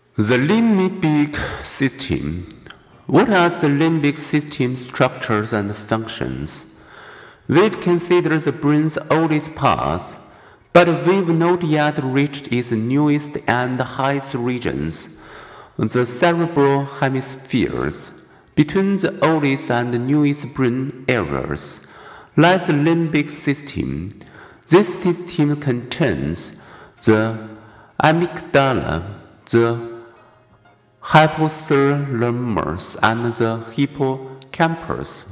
The limbic system. What are the limbic system structures and functions? We've considered the brain's oldest parts, but we've not yet reached its newest and highest regions, the cerebral hemispheres. Between the oldest and newest brain areas lies the limbic system. This system contains the amygdala, the hypothalamus, and the hippocampus.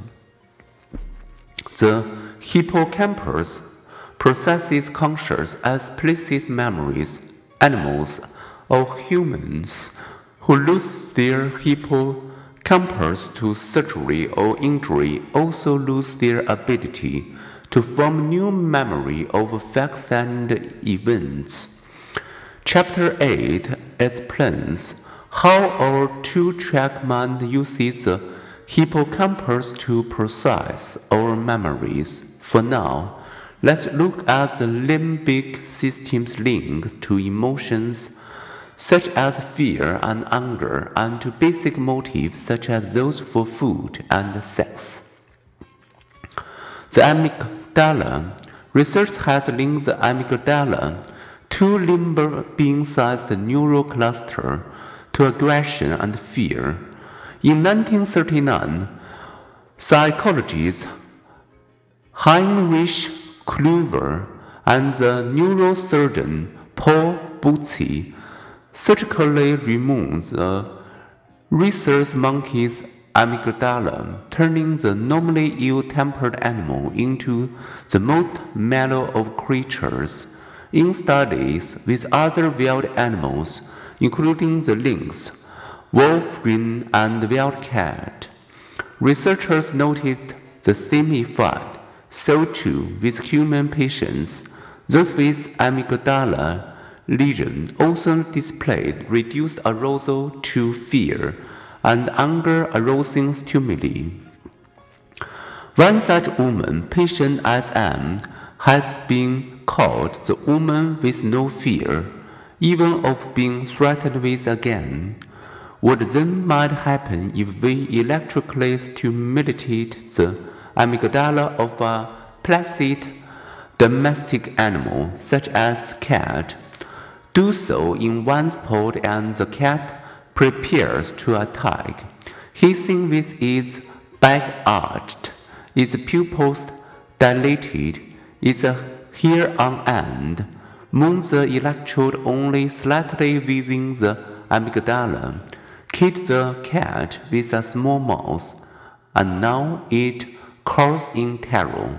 The hippocampus processes conscious as places memories. Animals or humans who lose their hippocampus to surgery or injury also lose their ability to form new memory of facts and events. Chapter 8 explains how our two-track mind uses the hippocampus to process our memories. For now, let's look at the limbic system's link to emotions such as fear and anger, and to basic motives such as those for food and sex. The amygdala. Research has linked the amygdala to limb-being-sized neural cluster to aggression and fear. In 1939, psychologist Heinrich Klüver and the neurosurgeon Paul Bucci surgically removed the rhesus monkey's amygdala, turning the normally ill-tempered animal into the most mellow of creatures. In studies with other wild animals, including the lynx, wolverine, and wildcat, researchers noted the same effect. So too with human patients, those with amygdala lesion also displayed reduced arousal to fear and anger-arousing stimuli. One such woman, patient SM, has been called the woman with no fear, even of being threatened with again. What then might happen if we electrically stimulated the amygdala of a placid domestic animal, such as a cat? Do so in one spot and the cat prepares to attack, hissing with its back arched, its pupils dilated, its hair on end. Move the electrode only slightly within the amygdala, kid the cat with a small mouth, and now it calls in terror.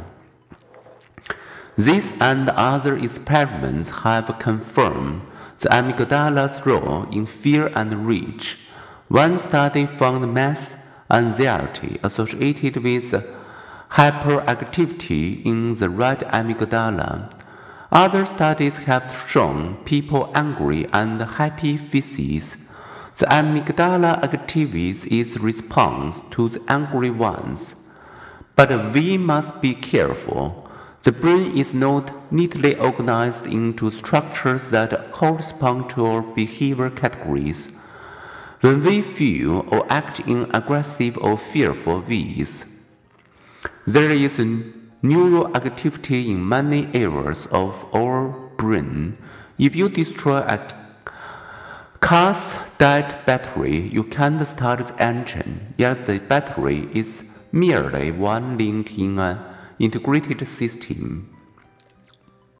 This and other experiments have confirmed the amygdala's role in fear and rage. One study found mass anxiety associated with hyperactivity in the right amygdala. Other studies have shown people angry and happy faces. The amygdala activates its response to the angry ones. But we must be careful. The brain is not neatly organized into structures that correspond to our behavior categories. When we feel or act in aggressive or fearful ways, there is neural activity in many areas of our brain. If you destroy a car's dead battery, you can't start the engine, yet the battery is merely one link in an integrated system.